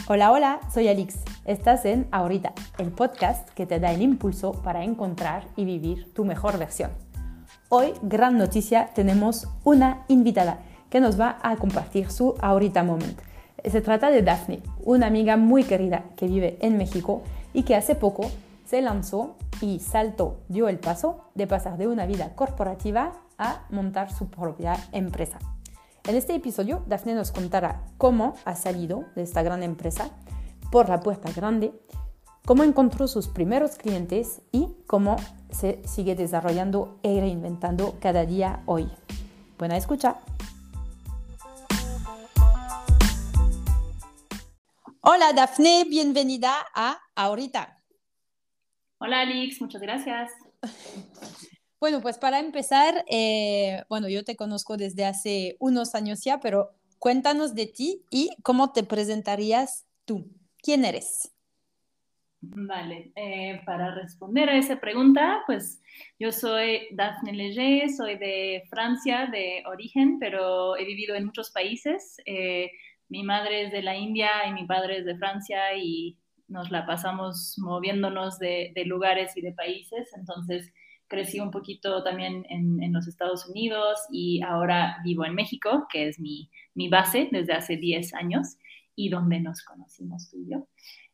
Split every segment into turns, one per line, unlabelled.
Hola, hola, soy Alix. Estás en Ahorita, el podcast que te da el impulso para encontrar y vivir tu mejor versión. Hoy, gran noticia, tenemos una invitada que nos va a compartir su Ahorita Moment. Se trata de Dafne, una amiga muy querida que vive en México y que hace poco se lanzó y dio el paso de pasar de una vida corporativa a montar su propia empresa. En este episodio, Dafne nos contará cómo ha salido de esta gran empresa por la puerta grande, cómo encontró sus primeros clientes y cómo se sigue desarrollando e reinventando cada día hoy. Buena escucha. Hola Dafne, bienvenida a Ahorita.
Hola Alix, muchas gracias.
Bueno, pues para empezar, yo te conozco desde hace unos años ya, pero cuéntanos de ti y cómo te presentarías tú. ¿Quién eres?
Vale, para responder a esa pregunta, pues yo soy Dafne Leger, soy de Francia de origen, pero he vivido en muchos países. Mi madre es de la India y mi padre es de Francia y nos la pasamos moviéndonos de lugares y de países. Entonces crecí un poquito también en los Estados Unidos y ahora vivo en México, que es mi base desde hace 10 años y donde nos conocimos tú y yo.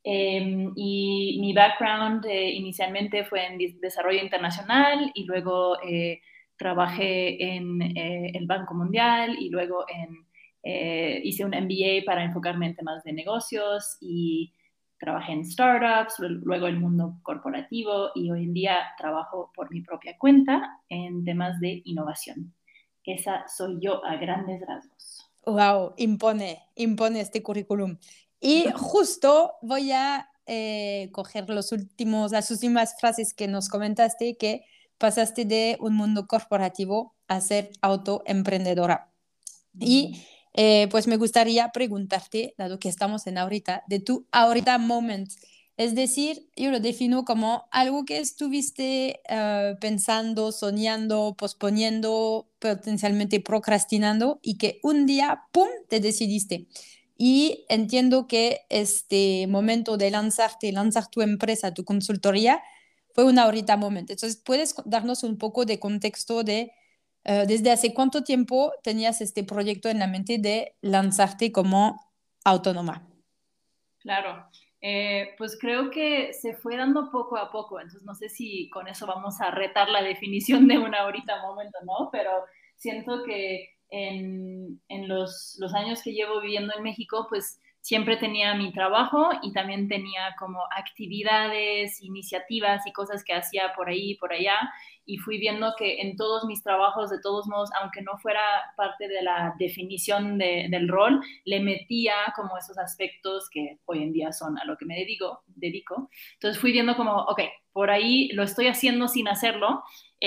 Y mi background inicialmente fue en desarrollo internacional y luego trabajé en el Banco Mundial y luego hice un MBA para enfocarme en temas de negocios y trabajé en startups, luego el mundo corporativo y hoy en día trabajo por mi propia cuenta en temas de innovación. Esa soy yo a grandes rasgos.
Wow, impone este currículum. Y justo voy a coger las últimas frases que nos comentaste, que pasaste de un mundo corporativo a ser autoemprendedora. Y pues me gustaría preguntarte, dado que estamos en ahorita, de tu ahorita moment. Es decir, yo lo defino como algo que estuviste pensando, soñando, posponiendo, potencialmente procrastinando y que un día, ¡pum!, te decidiste. Y entiendo que este momento de lanzar tu empresa, tu consultoría, fue un ahorita moment. Entonces, ¿puedes darnos un poco de contexto de desde hace cuánto tiempo tenías este proyecto en la mente de lanzarte como autónoma?
Claro, pues creo que se fue dando poco a poco, entonces no sé si con eso vamos a retar la definición de una ahorita momento, ¿no? Pero siento que en los años que llevo viviendo en México, pues siempre tenía mi trabajo y también tenía como actividades, iniciativas y cosas que hacía por ahí y por allá y fui viendo que en todos mis trabajos, de todos modos, aunque no fuera parte de la definición del rol, le metía como esos aspectos que hoy en día son a lo que me dedico. Entonces fui viendo como, ok, por ahí lo estoy haciendo sin hacerlo.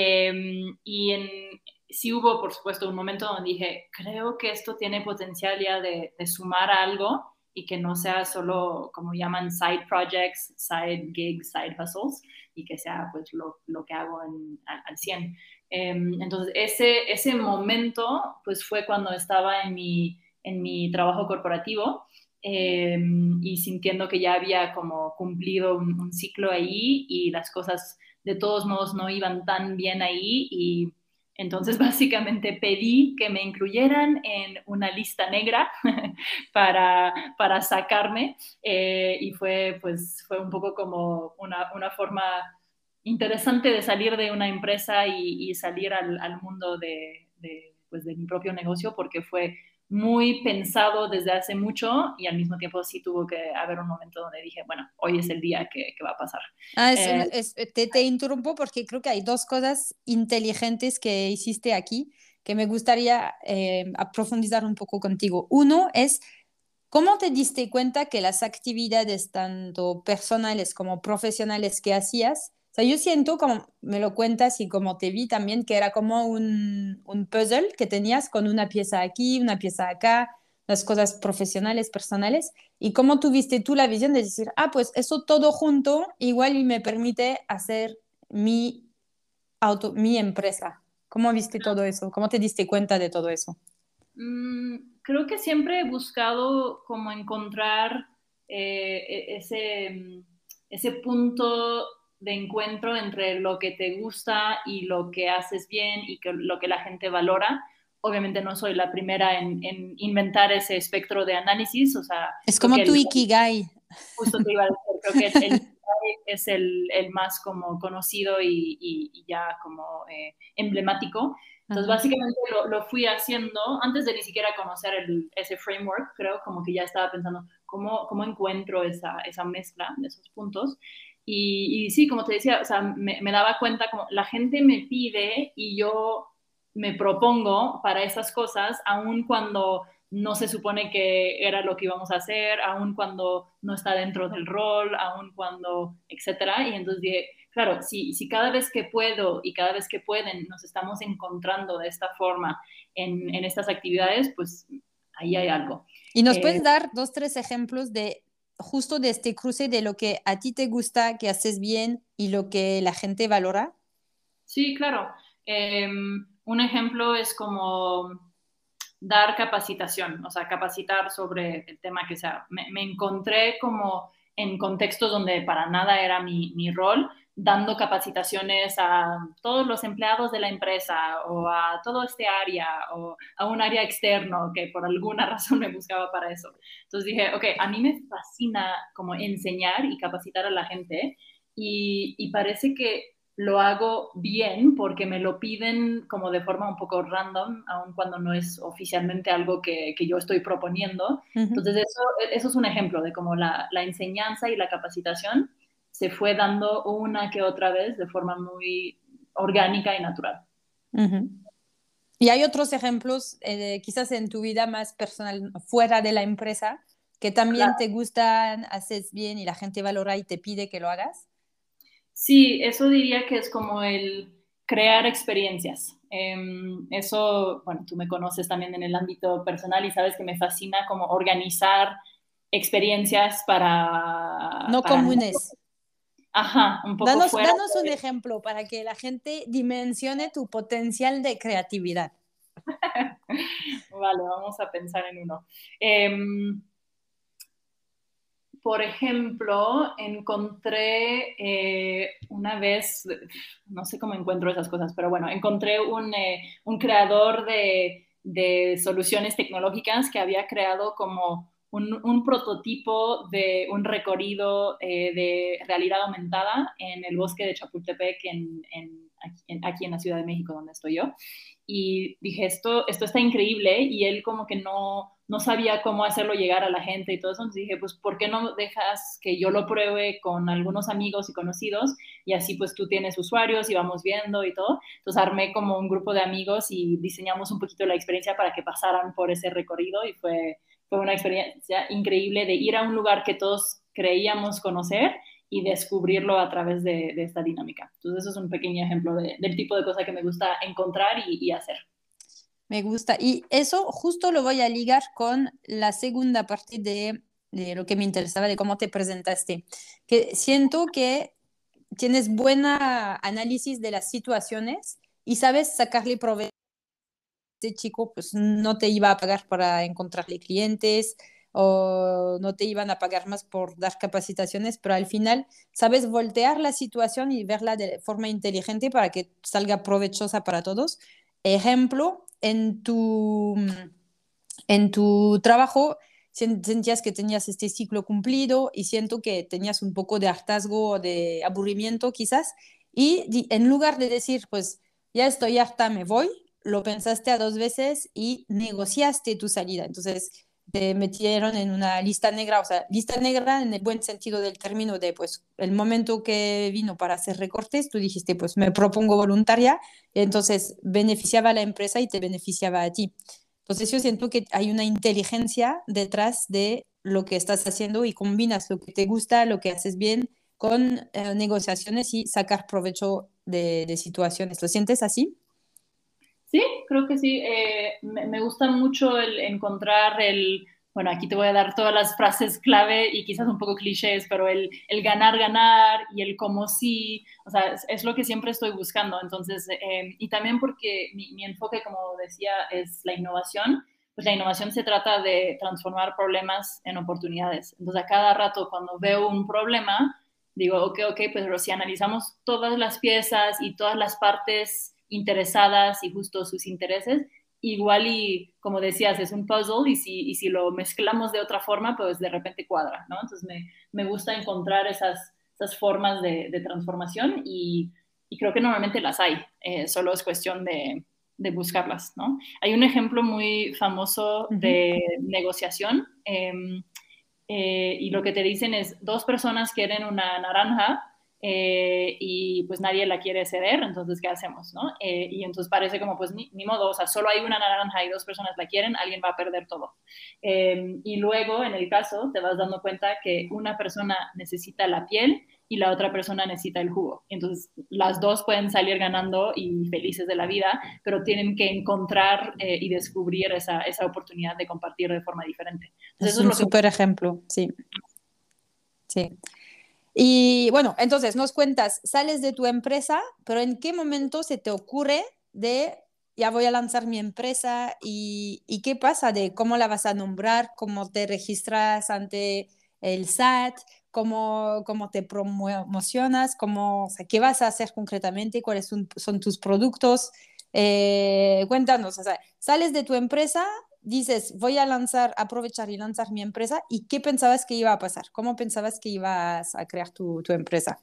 Sí hubo, por supuesto, un momento donde dije, creo que esto tiene potencial ya de sumar a algo y que no sea solo, como llaman, side projects, side gigs, side hustles, y que sea pues lo que hago al 100. Entonces, ese momento pues fue cuando estaba en mi trabajo corporativo y sintiendo que ya había como cumplido un ciclo ahí y las cosas de todos modos no iban tan bien ahí y entonces básicamente pedí que me incluyeran en una lista negra para sacarme y fue un poco como una forma interesante de salir de una empresa y salir al mundo pues de mi propio negocio porque fue muy pensado desde hace mucho y al mismo tiempo sí tuvo que haber un momento donde dije, bueno, hoy es el día que va a pasar. Eh,
Te interrumpo porque creo que hay dos cosas inteligentes que hiciste aquí que me gustaría profundizar un poco contigo. Uno es, ¿cómo te diste cuenta que las actividades tanto personales como profesionales que hacías, o sea, yo siento como me lo cuentas y como te vi también, que era como un puzzle que tenías con una pieza aquí, una pieza acá, las cosas profesionales, personales, y cómo tuviste tú la visión de decir, ah, pues eso todo junto igual y me permite hacer mi empresa. ¿Cómo viste todo eso? ¿Cómo te diste cuenta de todo eso?
Creo que siempre he buscado como encontrar ese punto de encuentro entre lo que te gusta y lo que haces bien y lo que la gente valora. Obviamente no soy la primera en inventar ese espectro de análisis, o sea,
Es
creo
como
que
tu Ikigai.
justo te iba a decir, creo que el es el más como conocido y ya como emblemático. Entonces,
Ajá.
básicamente lo fui haciendo antes de ni siquiera conocer ese framework, creo, como que ya estaba pensando cómo encuentro esa mezcla de esos puntos. Y sí, como te decía, o sea, me daba cuenta como la gente me pide y yo me propongo para esas cosas, aun cuando no se supone que era lo que íbamos a hacer, aun cuando no está dentro del rol, aun cuando, etcétera. Y entonces dije, claro, si cada vez que puedo y cada vez que pueden nos estamos encontrando de esta forma en estas actividades, pues ahí hay algo.
¿Y nos
Eh,
puedes dar dos, tres ejemplos de justo de este cruce de lo que a ti te gusta, que haces bien y lo que la gente valora?
sí, claro. Un ejemplo es como dar capacitación, o sea, capacitar sobre el tema que sea. Me encontré como en contextos donde para nada era mi rol, dando capacitaciones a todos los empleados de la empresa o a todo este área o a un área externo que por alguna razón me buscaba para eso. Entonces dije, ok, a mí me fascina como enseñar y capacitar a la gente y parece que lo hago bien porque me lo piden como de forma un poco random, aun cuando no es oficialmente algo que yo estoy proponiendo.
Ujú,
Entonces, eso es un ejemplo de cómo la enseñanza y la capacitación se fue dando una que otra vez de forma muy orgánica y natural.
ujú. Y hay otros ejemplos, quizás en tu vida más personal, fuera de la empresa, que también
Claro.
te gustan, haces bien y la gente valora y te pide que lo hagas.
Sí, eso diría que es como el crear experiencias. Eso, bueno, tú me conoces también en el ámbito personal y sabes que me fascina como organizar experiencias
No
para mí.
comunes.
Ajá, un poco fuera
Danos un
de...
ejemplo para que la gente dimensione tu potencial de creatividad.
Vale, vamos a pensar en uno. Por ejemplo, encontré una vez, no sé cómo encuentro esas cosas, pero bueno, encontré un creador de soluciones tecnológicas que había creado como un prototipo de un recorrido de realidad aumentada en el bosque de Chapultepec, aquí en la Ciudad de México, donde estoy yo. Y dije, esto está increíble, y él como que no sabía cómo hacerlo llegar a la gente y todo eso. Entonces dije, pues, ¿por qué no dejas que yo lo pruebe con algunos amigos y conocidos? Y así pues tú tienes usuarios y vamos viendo y todo. Entonces armé como un grupo de amigos y diseñamos un poquito la experiencia para que pasaran por ese recorrido, y fue una experiencia increíble de ir a un lugar que todos creíamos conocer y descubrirlo a través de esta dinámica. Entonces eso es un pequeño ejemplo del tipo de cosa que me gusta encontrar y hacer.
Me gusta. Y eso justo lo voy a ligar con la segunda parte de lo que me interesaba, de cómo te presentaste. Que siento que tienes buena análisis de las situaciones y sabes sacarle provecho. Este chico pues no te iba a pagar para encontrarle clientes o no te iban a pagar más por dar capacitaciones, pero al final sabes voltear la situación y verla de forma inteligente para que salga provechosa para todos. Ejemplo, en tu trabajo sentías que tenías este ciclo cumplido y siento que tenías un poco de hartazgo o de aburrimiento quizás y en lugar de decir pues ya estoy harta, me voy, lo pensaste a dos veces y negociaste tu salida. Entonces te metieron en una lista negra, o sea, lista negra en el buen sentido del término de pues el momento que vino para hacer recortes, tú dijiste pues me propongo voluntaria, entonces beneficiaba a la empresa y te beneficiaba a ti. Entonces yo siento que hay una inteligencia detrás de lo que estás haciendo y combinas lo que te gusta, lo que haces bien con negociaciones y sacar provecho de situaciones. ¿Lo sientes así?
Sí, creo que sí. Me gusta mucho el encontrar bueno, aquí te voy a dar todas las frases clave y quizás un poco clichés, pero el ganar, ganar y el como sí, o sea, es lo que siempre estoy buscando. Entonces, y también porque mi enfoque, como decía, es la innovación. pues la innovación se trata de transformar problemas en oportunidades. Entonces, a cada rato cuando veo un problema, digo, ok, pero si analizamos todas las piezas y todas las partes interesadas y justo sus intereses, igual y, como decías, es un puzzle y si lo mezclamos de otra forma, pues de repente cuadra, ¿no? Entonces me gusta encontrar esas formas de transformación y creo que normalmente las hay, solo es cuestión de buscarlas, ¿no? Hay un ejemplo muy famoso de negociación y lo que te dicen es, dos personas quieren una naranja y pues nadie la quiere ceder, entonces ¿qué hacemos? ¿No? Y entonces parece como pues ni modo, o sea, solo hay una naranja y dos personas la quieren, alguien va a perder todo. Y luego en el caso te vas dando cuenta que una persona necesita la piel y la otra persona necesita el jugo. Entonces, las dos pueden salir ganando y felices de la vida, pero tienen que encontrar y descubrir esa oportunidad de compartir de forma diferente. Entonces,
Es
eso es
un
lo que...
súper ejemplo, sí, sí. Y bueno, entonces nos cuentas, sales de tu empresa, pero ¿en qué momento se te ocurre de ya voy a lanzar mi empresa y qué pasa de cómo la vas a nombrar, cómo te registras ante el SAT, cómo te promocionas, o sea, qué vas a hacer concretamente, cuáles son tus productos? Cuéntanos, o sea, sales de tu empresa, dices, voy a aprovechar y lanzar mi empresa, ¿y qué pensabas que iba a pasar? ¿Cómo pensabas que ibas a crear tu empresa?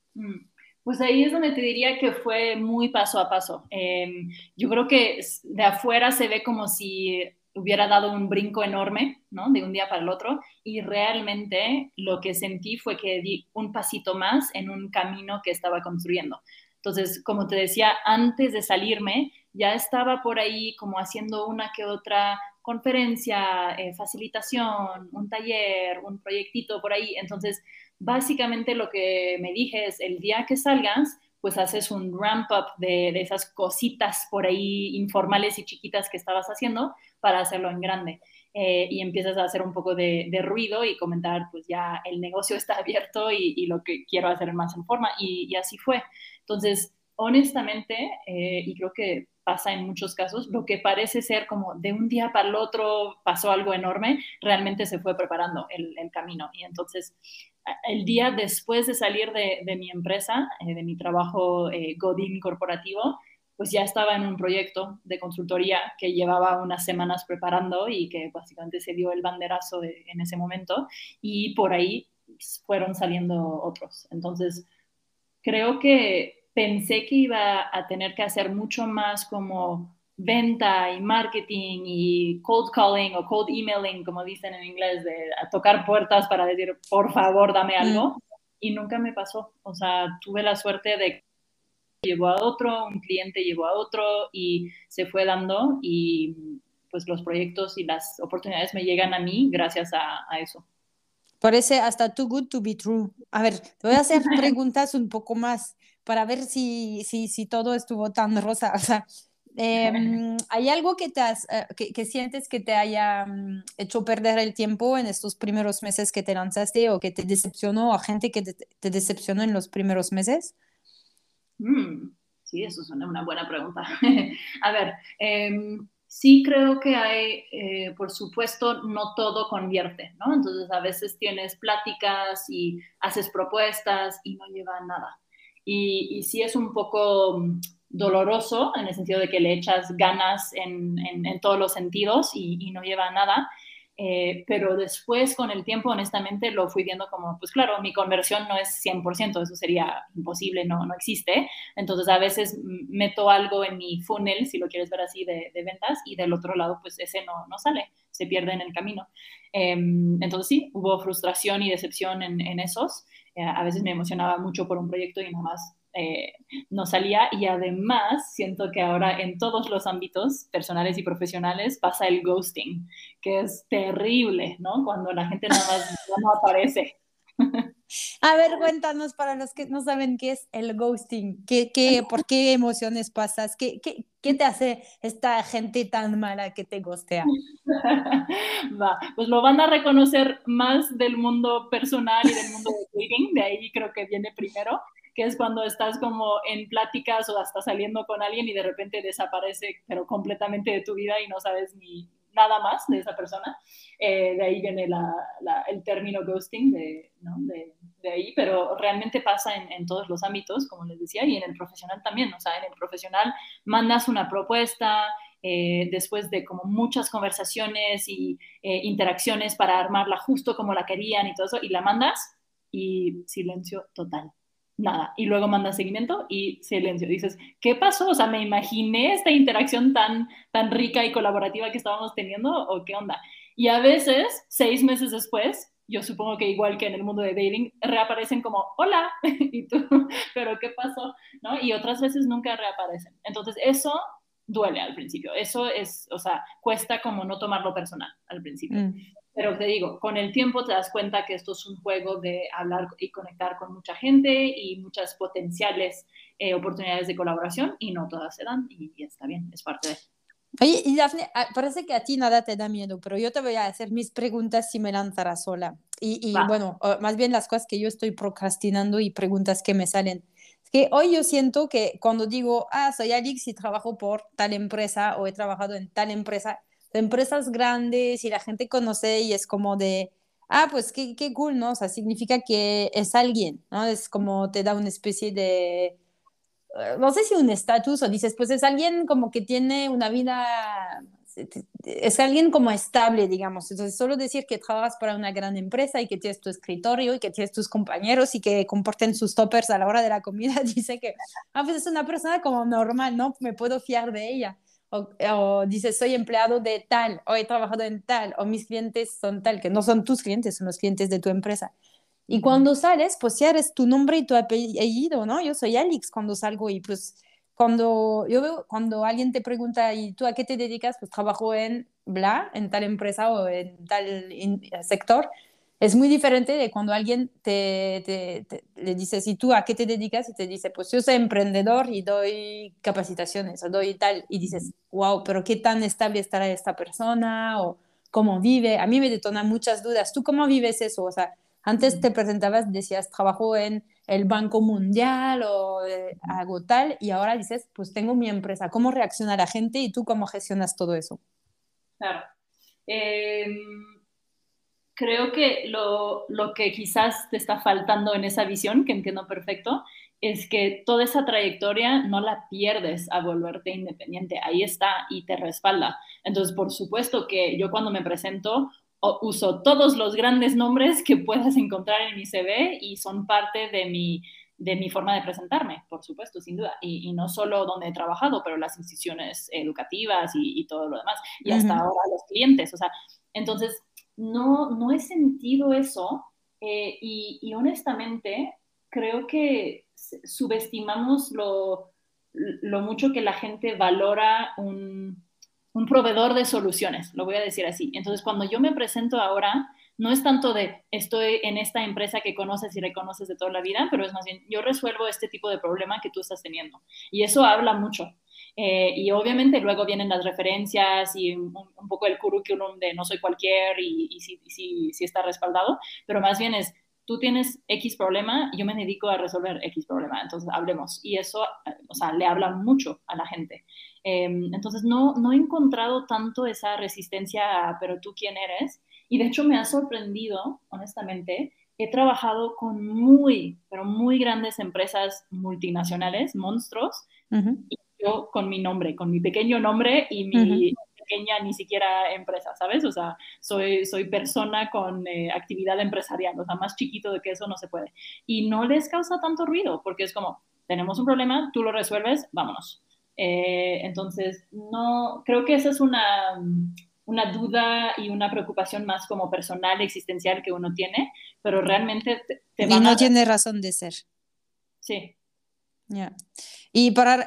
Pues ahí es donde te diría que fue muy paso a paso. Yo creo que de afuera se ve como si hubiera dado un brinco enorme, ¿no? De un día para el otro, y realmente lo que sentí fue que di un pasito más en un camino que estaba construyendo. Entonces, como te decía, antes de salirme, ya estaba por ahí como haciendo una que otra conferencia, facilitación, un taller, un proyectito por ahí. Entonces, básicamente lo que me dije es, el día que salgas, pues haces un ramp up de esas cositas por ahí informales y chiquitas que estabas haciendo para hacerlo en grande. Y empiezas a hacer un poco de ruido y comentar, pues ya el negocio está abierto y lo que quiero hacer más en forma. Y así fue. Entonces, honestamente, y creo que pasa en muchos casos, lo que parece ser como de un día para el otro pasó algo enorme, realmente se fue preparando el camino. Y entonces, el día después de salir de mi empresa, de mi trabajo Godín corporativo, pues ya estaba en un proyecto de consultoría que llevaba unas semanas preparando y que básicamente se dio el banderazo en ese momento y por ahí fueron saliendo otros. Entonces, creo que pensé que iba a tener que hacer mucho más como venta y marketing y cold calling o cold emailing, como dicen en inglés, de a tocar puertas para decir, por favor, dame
Mm.
algo. Y nunca me pasó. O sea, tuve la suerte de que llevó a otro, un cliente llevó a otro y se fue dando y pues los proyectos y las oportunidades me llegan a mí gracias a eso.
Parece hasta too good to be true. A ver, te voy a hacer preguntas un poco más para ver si todo estuvo tan rosa. O sea, ¿hay algo que sientes que te haya hecho perder el tiempo en estos primeros meses que te lanzaste o que te decepcionó, o gente que te decepcionó en los primeros meses?
Sí, eso es una buena pregunta. A ver, sí creo que hay, por supuesto, no todo convierte, ¿no? Entonces a veces tienes pláticas y haces propuestas y no lleva a nada. Y sí es un poco doloroso en el sentido de que le echas ganas en todos los sentidos y no lleva a nada. Pero después, con el tiempo, honestamente, lo fui viendo como, pues claro, mi conversión no es 100%, eso sería imposible, no existe. Entonces, a veces meto algo en mi funnel, si lo quieres ver así, de ventas, y del otro lado, pues ese no sale, se pierde en el camino. Entonces, sí, hubo frustración y decepción en esos. A veces me emocionaba mucho por un proyecto y nada más no salía y además siento que ahora en todos los ámbitos personales y profesionales pasa el ghosting, que es terrible, ¿no? Cuando la gente nada más ya no aparece.
A ver, cuéntanos para los que no saben qué es el ghosting, por qué emociones pasas, qué te hace esta gente tan mala que te ghostea.
Va, pues lo van a reconocer más del mundo personal y del mundo de dating, de ahí creo que viene primero, que es cuando estás como en pláticas o hasta saliendo con alguien y de repente desaparece, pero completamente de tu vida y no sabes nada más de esa persona. De ahí viene el término ghosting, ¿no? de ahí, pero realmente pasa en todos los ámbitos, como les decía, y en el profesional también. O sea, en el profesional mandas una propuesta, después de como muchas conversaciones y interacciones para armarla justo como la querían y todo eso, y la mandas y silencio total. Nada. Y luego mandas seguimiento y silencio. Dices, ¿qué pasó? O sea, me imaginé esta interacción tan rica y colaborativa que estábamos teniendo, ¿o qué onda? Y a veces, 6 meses después, yo supongo que igual que en el mundo de dating, reaparecen como, hola, y tú, pero ¿qué pasó? ¿No? Y otras veces nunca reaparecen. Entonces, eso duele al principio. Eso es, o sea, cuesta como no tomarlo personal al principio. Pero te digo, con el tiempo te das cuenta que esto es un juego de hablar y conectar con mucha gente y muchas potenciales oportunidades de colaboración y no todas se dan y está bien, es parte de...
Oye, y Dafne, parece que a ti nada te da miedo, pero yo te voy a hacer mis preguntas si me lanzará sola. Y
Va.
bueno, más bien las cosas que yo estoy procrastinando y preguntas que me salen. Es que hoy yo siento que cuando digo, soy Alix y trabajo por tal empresa o he trabajado en tal empresa, de empresas grandes y la gente conoce y es como de, pues qué cool, ¿no? O sea, significa que es alguien, ¿no? Es como te da una especie de no sé si un estatus o dices, pues es alguien como que tiene una vida, es alguien como estable, digamos. Entonces, solo decir que trabajas para una gran empresa y que tienes tu escritorio y que tienes tus compañeros y que comporten sus toppers a la hora de la comida, dice que, pues es una persona como normal, ¿no? Me puedo fiar de ella. O dices, soy empleado de tal, o he trabajado en tal, o mis clientes son tal, que no son tus clientes, son los clientes de tu empresa. Y cuando sales, pues ya eres tu nombre y tu apellido, ¿no? Yo soy Alex cuando salgo y pues cuando yo veo, cuando alguien te pregunta, ¿y tú a qué te dedicas? Pues trabajo en bla, en tal empresa o en tal sector. Es muy diferente de cuando alguien le dices, ¿y tú a qué te dedicas? Y te dice, pues yo soy emprendedor y doy capacitaciones o doy tal. Y dices, wow, pero ¿qué tan estable estará esta persona? O cómo vive. A mí me detona muchas dudas. ¿Tú cómo vives eso? O sea, antes te presentabas, decías, trabajo en el Banco Mundial o hago tal, y ahora dices, pues tengo mi empresa. ¿Cómo reacciona la gente y tú cómo gestionas todo eso?
Claro. Eh, Creo que lo que quizás te está faltando en esa visión, que entiendo perfecto, es que toda esa trayectoria no la pierdes a volverte independiente. Ahí está y te respalda. Entonces, por supuesto que yo cuando me presento uso todos los grandes nombres que puedas encontrar en mi CV y son parte de mi forma de presentarme, por supuesto, sin duda. Y no solo donde he trabajado, pero las instituciones educativas y todo lo demás. Y hasta ahora los clientes. O sea, entonces no he sentido eso y honestamente creo que subestimamos lo mucho que la gente valora un proveedor de soluciones, lo voy a decir así. Entonces, cuando yo me presento ahora, no es tanto de estoy en esta empresa que conoces y reconoces de toda la vida, pero es más bien yo resuelvo este tipo de problema que tú estás teniendo. Y eso habla mucho. Y obviamente luego vienen las referencias y un poco el currículum de no soy cualquier y si está respaldado, pero más bien es, tú tienes X problema, yo me dedico a resolver X problema, entonces hablemos. Y eso, o sea, le habla mucho a la gente. Entonces no he encontrado tanto esa resistencia a, pero tú quién eres. Y de hecho me ha sorprendido, honestamente, he trabajado con pero muy grandes empresas multinacionales, monstruos, y yo con mi nombre, con mi pequeño nombre y mi pequeña ni siquiera empresa, ¿sabes? O sea, soy persona con actividad empresarial, o sea, más chiquito de que eso no se puede. Y no les causa tanto ruido, porque es como, tenemos un problema, tú lo resuelves, vámonos. Entonces, no, creo que esa es una duda y una preocupación más como personal, existencial que uno tiene, pero realmente te
Y
van
no
a...
tiene razón de ser.
Sí.
Yeah. Y para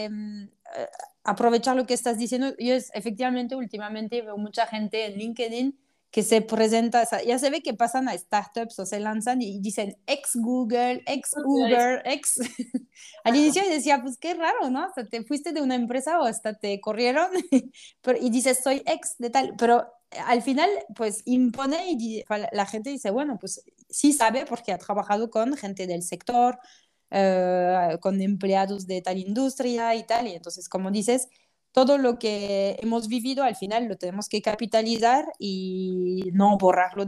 aprovechar lo que estás diciendo, efectivamente últimamente veo mucha gente en LinkedIn que se presenta, o sea, ya se ve que pasan a startups o se lanzan y dicen ex Google, ex Uber, ex... Al inicio yo decía, pues qué raro, ¿no? O sea, te fuiste de una empresa o hasta te corrieron y dices, soy ex de tal, pero al final pues impone y la gente dice, bueno, pues sí sabe porque ha trabajado con gente del sector, con empleados de tal industria y tal. Y entonces, como dices, todo lo que hemos vivido al final lo tenemos que capitalizar y no borrarlo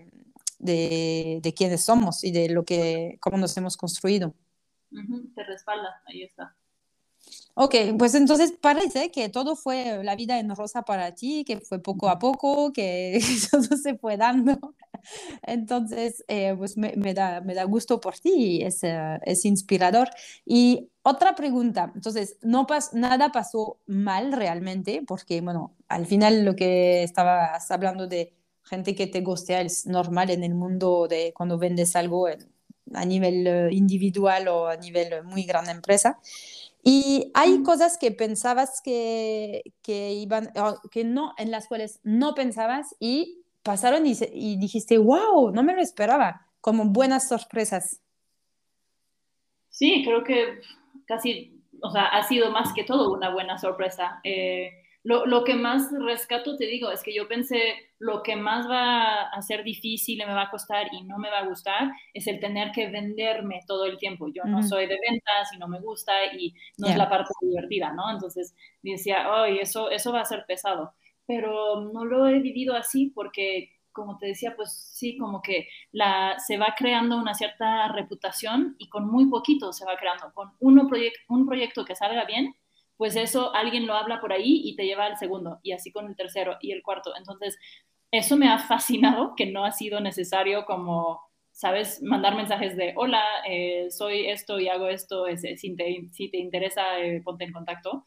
de quiénes somos y de lo que, cómo nos hemos construido.
Te respalda, ahí está.
Ok, pues entonces parece que todo fue la vida en rosa para ti, que fue poco a poco, que todo se fue dando. Entonces, pues me da gusto por ti y es inspirador. Y otra pregunta, entonces, nada pasó mal realmente, porque, bueno, al final lo que estabas hablando de gente que te gustea es normal en el mundo de cuando vendes algo a nivel individual o a nivel muy gran empresa. Y hay cosas que pensabas que iban, o que no, en las cuales no pensabas y pasaron y dijiste, wow, no me lo esperaba, como buenas sorpresas.
Sí, creo que casi, o sea, ha sido más que todo una buena sorpresa. Lo que más rescato, te digo, es que yo pensé, lo que más va a ser difícil y me va a costar y no me va a gustar es el tener que venderme todo el tiempo. Yo no
Ujú.
soy de ventas y no me gusta y no es
Yeah.
la parte divertida, ¿no? Entonces decía, ay, eso va a ser pesado. Pero no lo he vivido así porque, como te decía, pues sí, como que se va creando una cierta reputación y con muy poquito se va creando. Con un proyecto que salga bien, pues eso alguien lo habla por ahí y te lleva al segundo, y así con el tercero y el cuarto. Entonces, eso me ha fascinado, que no ha sido necesario como, ¿sabes? Mandar mensajes de, hola, soy esto y hago esto, si te interesa, ponte en contacto.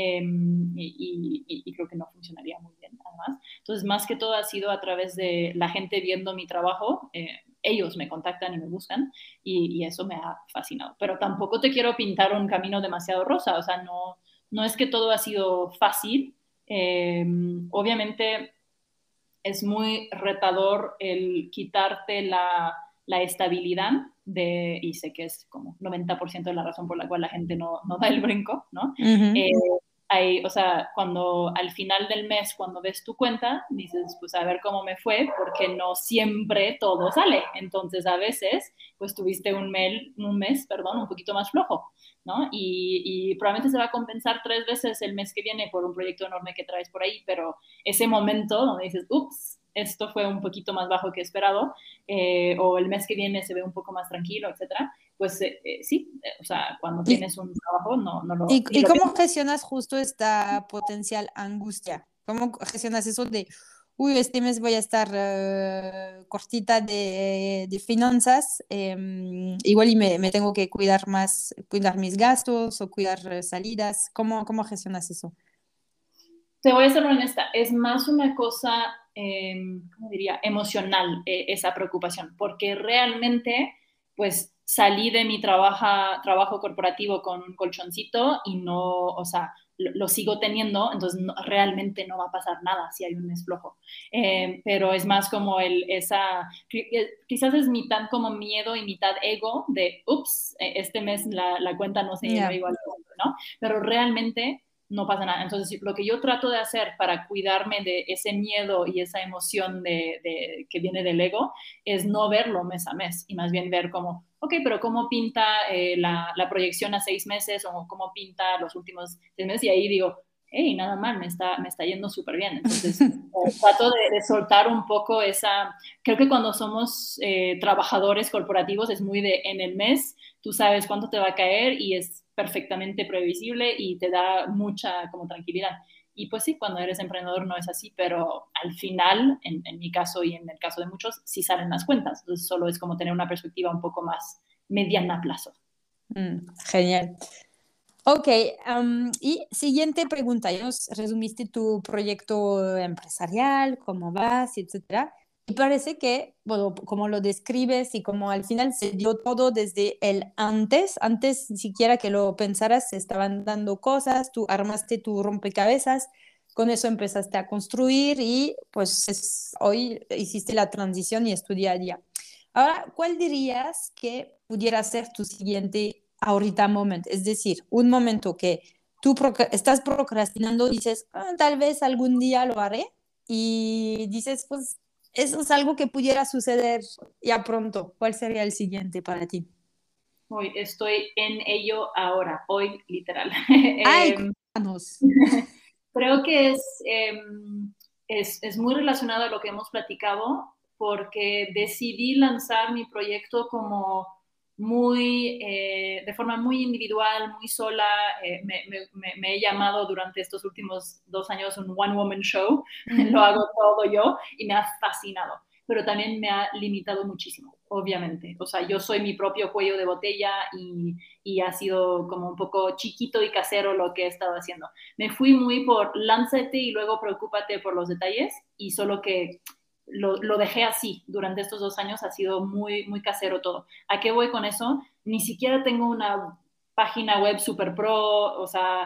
Y creo que no funcionaría muy bien, además. Entonces, más que todo ha sido a través de la gente viendo mi trabajo. Ellos me contactan y me buscan y eso me ha fascinado. Pero tampoco te quiero pintar un camino demasiado rosa, o sea, no es que todo ha sido fácil. Obviamente es muy retador el quitarte la estabilidad y sé que es como 90% de la razón por la cual la gente no da el brinco, ¿no?
Ujú.
O sea, cuando al final del mes, cuando ves tu cuenta, dices, pues a ver cómo me fue, porque no siempre todo sale. Entonces, a veces, pues tuviste un mes, un poquito más flojo, ¿no? Y probablemente se va a compensar 3 veces el mes que viene por un proyecto enorme que traes por ahí, pero ese momento donde dices, ups, esto fue un poquito más bajo que esperado, o el mes que viene se ve un poco más tranquilo, etcétera, pues sí, o sea, cuando
¿Y,
tienes un trabajo ni
y
lo
cómo
piensas.
gestionas justo esta potencial angustia? ¿Cómo gestionas eso de, uy, este mes voy a estar cortita de finanzas, igual y me tengo que cuidar más, cuidar mis gastos o cuidar salidas? ¿Cómo gestionas eso?
Te voy a ser honesta, es más una cosa, ¿cómo diría?, emocional, esa preocupación, porque realmente, pues salí de mi trabajo corporativo con un colchoncito y no, o sea, lo sigo teniendo, entonces realmente no va a pasar nada si hay un mes flojo. Pero es más como quizás es mitad como miedo y mitad ego de, ups, este mes la cuenta no se llenó
Ya.
igual, ¿no? Pero realmente no pasa nada. Entonces, lo que yo trato de hacer para cuidarme de ese miedo y esa emoción que viene del ego es no verlo mes a mes y más bien ver como, ok, pero cómo pinta la proyección a 6 meses o cómo pinta los últimos 6 meses y ahí digo, hey, nada mal, me está yendo súper bien. Entonces, trato de soltar un poco creo que cuando somos trabajadores corporativos es muy en el mes, tú sabes cuánto te va a caer y es perfectamente previsible y te da mucha como tranquilidad. Y pues sí, cuando eres emprendedor no es así, pero al final, en mi caso y en el caso de muchos, sí salen las cuentas. Entonces solo es como tener una perspectiva un poco más mediana plazo.
Genial. Ok, y siguiente pregunta. Ya nos resumiste tu proyecto empresarial, cómo vas, etcétera. Y parece que, bueno, como lo describes y como al final se dio todo desde el antes ni siquiera que lo pensaras, se estaban dando cosas, tú armaste tu rompecabezas, con eso empezaste a construir y pues hoy hiciste la transición y es tu día a día. Ahora, ¿cuál dirías que pudiera ser tu siguiente ahorita momento? Es decir, un momento que tú estás procrastinando, dices, "Ah, tal vez algún día lo haré", y dices, pues eso es algo que pudiera suceder ya pronto. ¿Cuál sería el siguiente para ti?
Hoy estoy en ello ahora, hoy literal.
Ay,
Em,
cuéntanos.
Creo que es muy relacionado a lo que hemos platicado porque decidí lanzar mi proyecto como de forma muy individual, muy sola. Me he llamado durante estos últimos 2 años un one woman show. Lo hago todo yo y me ha fascinado, pero también me ha limitado muchísimo, obviamente. O sea, yo soy mi propio cuello de botella y ha sido como un poco chiquito y casero lo que he estado haciendo. Me fui muy por lánzate y luego preocúpate por los detalles y solo que lo dejé así durante estos 2 años, ha sido muy, muy casero todo. ¿A qué voy con eso? Ni siquiera tengo una página web super pro, o sea,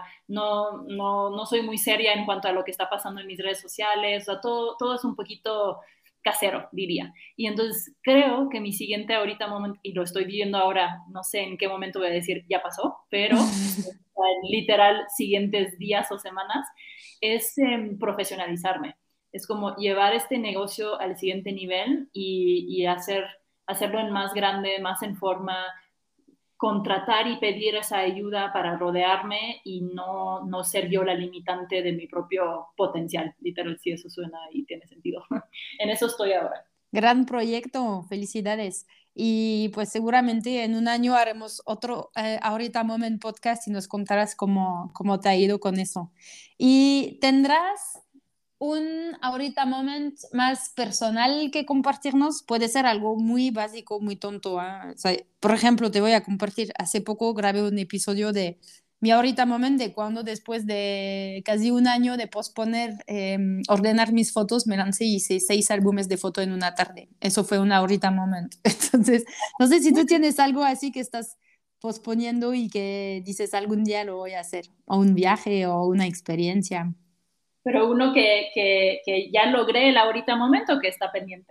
no soy muy seria en cuanto a lo que está pasando en mis redes sociales, o sea, todo es un poquito casero, diría. Y entonces creo que mi siguiente ahorita momento, y lo estoy viviendo ahora, no sé en qué momento voy a decir ya pasó, pero literal siguientes días o semanas, es profesionalizarme. Es como llevar este negocio al siguiente nivel y hacerlo en más grande, más en forma, contratar y pedir esa ayuda para rodearme y no ser yo la limitante de mi propio potencial. Literal, si eso suena y tiene sentido. En eso estoy ahora.
Gran proyecto, felicidades. Y pues seguramente en un año haremos otro Ahorita Moment podcast y nos contarás cómo te ha ido con eso. Y tendrás un Ahorita Moment más personal que compartirnos. Puede ser algo muy básico, muy tonto. O sea, por ejemplo, te voy a compartir. Hace poco grabé un episodio de mi Ahorita Moment de cuando después de casi un año de posponer ordenar mis fotos, me lancé y hice 6 álbumes de foto en una tarde. Eso fue un Ahorita Moment. Entonces, no sé si tú tienes algo así que estás posponiendo y que dices algún día lo voy a hacer, o un viaje o una experiencia.
Pero uno que ya logré el ahorita momento que está pendiente.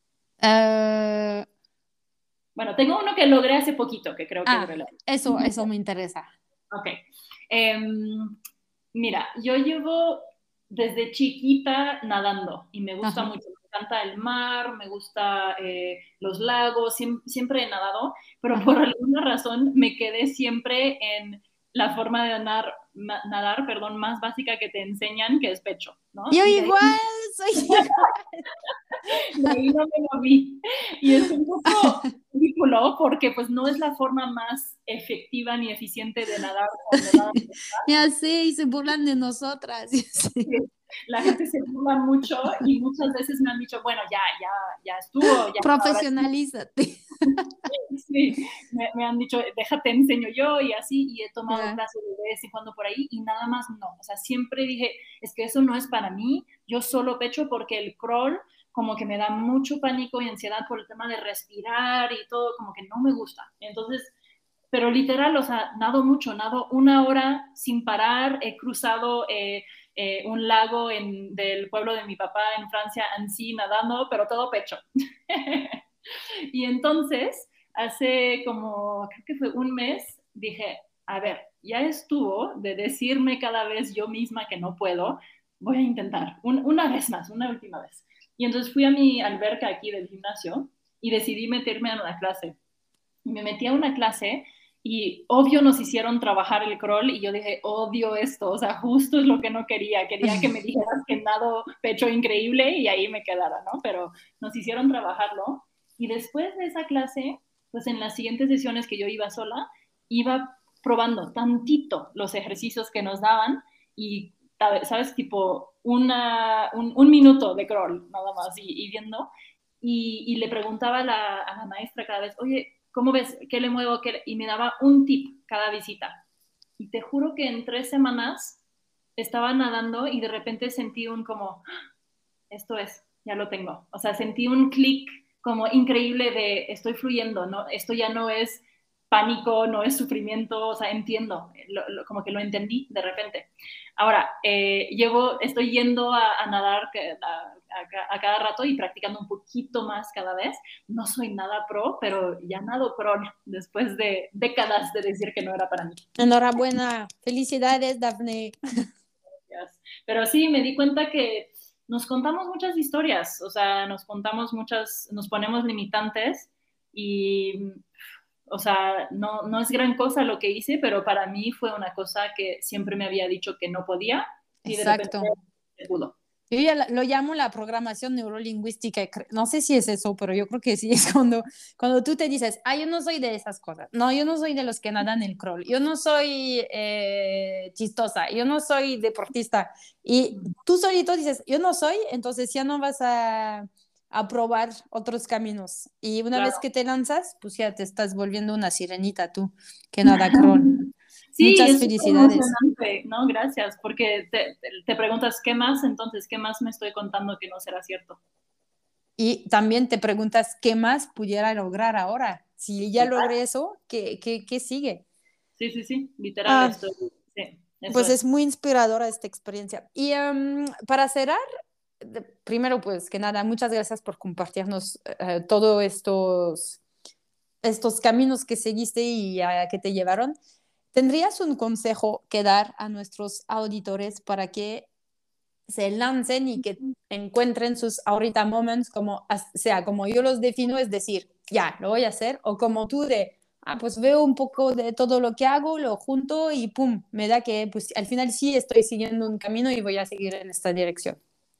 Eh,
Bueno, tengo uno que logré hace poquito, que creo que es relevante.
eso me interesa.
Ok. Mira, yo llevo desde chiquita nadando y me gusta
Ajá.
mucho. Me encanta el mar, me gusta los lagos, siempre he nadado, pero por
Ajá.
alguna razón me quedé siempre en la forma de nadar, perdón, más básica que te enseñan, que es pecho, ¿no?
Yo
Y de ahí,
igual, soy igual.
de ahí no me moví. Y es un poco ridículo porque pues no es la forma más efectiva ni eficiente de nadar cuando nadas.
Ya sé, y se burlan de nosotras. Ya sé.
La gente se burla mucho y muchas veces me han dicho, bueno, ya estuvo, ya ahora
Profesionalízate.
sí, me han dicho, déjate enseño yo y así, y he tomado
Ya.
clases de vez en cuando por ahí y nada más no. O sea, siempre dije, es que eso no es para mí, yo solo pecho porque el crawl como que me da mucho pánico y ansiedad por el tema de respirar y todo, como que no me gusta. Entonces, pero literal, o sea, nado mucho, nado 1 hora sin parar, he cruzado un lago del pueblo de mi papá en Francia, Annecy, nadando, pero todo pecho. Y entonces, hace como, creo que fue un mes, dije, a ver, ya estuvo de decirme cada vez yo misma que no puedo, voy a intentar, una vez más, una última vez. Y entonces fui a mi alberca aquí del gimnasio y decidí meterme a una clase. Y me metí a una clase y obvio nos hicieron trabajar el crawl y yo dije, odio esto, o sea, justo es lo que no quería, quería que me dijeras que nado pecho increíble y ahí me quedara, ¿no? Pero nos hicieron trabajarlo y después de esa clase, pues en las siguientes sesiones que yo iba sola, iba probando tantito los ejercicios que nos daban y, ¿sabes? Tipo un minuto de crawl nada más y viendo. Y le preguntaba a la maestra cada vez, oye, ¿cómo ves? ¿Qué le muevo? Y me daba un tip cada visita. Y te juro que en 3 semanas estaba nadando y de repente sentí un como, esto es, ya lo tengo. O sea, sentí un clic como increíble de estoy fluyendo, ¿no? Esto ya no es pánico, no es sufrimiento, o sea, entiendo, como que lo entendí de repente. Ahora, estoy yendo a nadar a cada rato y practicando un poquito más cada vez. No soy nada pro, pero ya nado pro después de décadas de decir que no era para mí.
Enhorabuena. Felicidades, Dafne.
Pero sí, me di cuenta que nos contamos muchas historias, o sea, nos ponemos limitantes y, o sea, no es gran cosa lo que hice, pero para mí fue una cosa que siempre me había dicho que no podía y de repente
Exacto.
se pudo.
Yo ya lo llamo la programación neurolingüística. No sé si es eso, pero yo creo que sí. Es cuando tú te dices, yo no soy de esas cosas. No, yo no soy de los que nadan el crawl. Yo no soy chistosa. Yo no soy deportista. Y tú solito dices, yo no soy, entonces ya no vas a probar otros caminos. Y una vez
Claro.
que te lanzas, pues ya te estás volviendo una sirenita tú, que nada crawl.
Sí,
Muchas
es súper
felicidades.
emocionante, ¿no? Gracias, porque te preguntas, ¿qué más? Entonces, ¿qué más me estoy contando que no será cierto?
Y también te preguntas qué más pudiera lograr ahora. Si ya
Total.
logré eso, ¿qué sigue?
Sí, sí, sí, literal,
Ah,
estoy, sí, eso
pues es
es.
muy inspiradora esta experiencia. Y para cerrar, primero, pues que nada, muchas gracias por compartirnos todos estos caminos que seguiste y a que te llevaron. ¿Tendrías un consejo que dar a nuestros auditores para que se lancen y que encuentren sus ahorita moments, como sea, como yo los defino, es decir, ya, lo voy a hacer, o como tú de, pues veo un poco de todo lo que hago, lo junto y pum, me da que pues al final sí estoy siguiendo un camino y voy a seguir en esta dirección.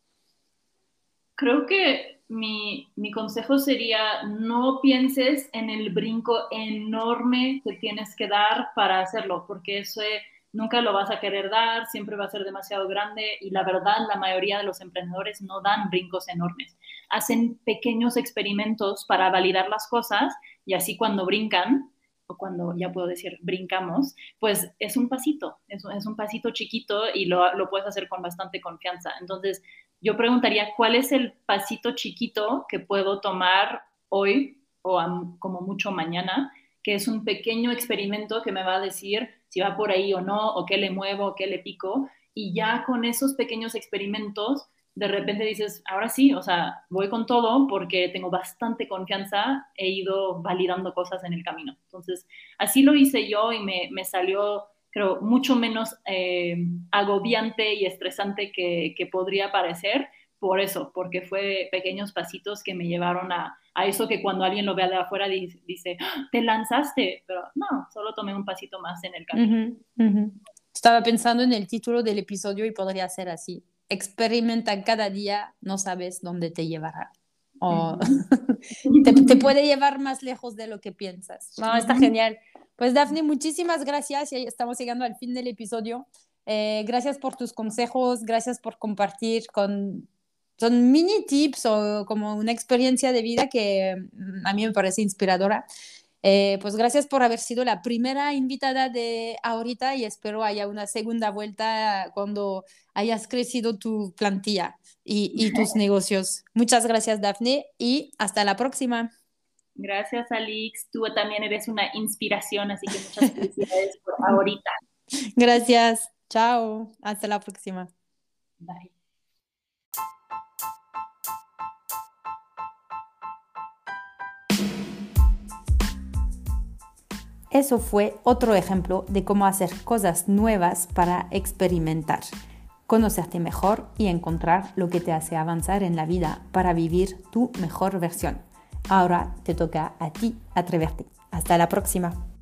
Creo que mi consejo sería no pienses en el brinco enorme que tienes que dar para hacerlo, porque eso nunca lo vas a querer dar, siempre va a ser demasiado grande y la verdad la mayoría de los emprendedores no dan brincos enormes. Hacen pequeños experimentos para validar las cosas y así cuando brincan, o cuando ya puedo decir brincamos, pues es un pasito, es un pasito chiquito y lo puedes hacer con bastante confianza. Entonces, yo preguntaría, ¿cuál es el pasito chiquito que puedo tomar hoy o como mucho mañana? Que es un pequeño experimento que me va a decir si va por ahí o no, o qué le muevo, o qué le pico. Y ya con esos pequeños experimentos, de repente dices, ahora sí, o sea, voy con todo porque tengo bastante confianza, he ido validando cosas en el camino. Entonces, así lo hice yo y me salió creo, mucho menos agobiante y estresante que podría parecer por eso, porque fue pequeños pasitos que me llevaron a eso que cuando alguien lo ve de afuera dice, ¡Ah, te lanzaste, pero no, solo tomé un pasito más en el camino.
Uh -huh. Estaba pensando en el título del episodio y podría ser así. Experimenta cada día, no sabes dónde te llevará. O te puede llevar más lejos de lo que piensas. No, está genial. Pues Dafne, muchísimas gracias. Ya estamos llegando al fin del episodio. Gracias por tus consejos, gracias por compartir son mini tips o como una experiencia de vida que a mí me parece inspiradora. Pues gracias por haber sido la primera invitada de ahorita y espero haya una segunda vuelta cuando hayas crecido tu plantilla y tus negocios. Muchas gracias, Dafne, y hasta la próxima.
Gracias, Alix. Tú también eres una inspiración, así que muchas felicidades por ahorita.
Gracias. Chao. Hasta la próxima.
Bye.
Eso fue otro ejemplo de cómo hacer cosas nuevas para experimentar, conocerte mejor y encontrar lo que te hace avanzar en la vida para vivir tu mejor versión. Ahora te toca a ti atreverte. Hasta la próxima.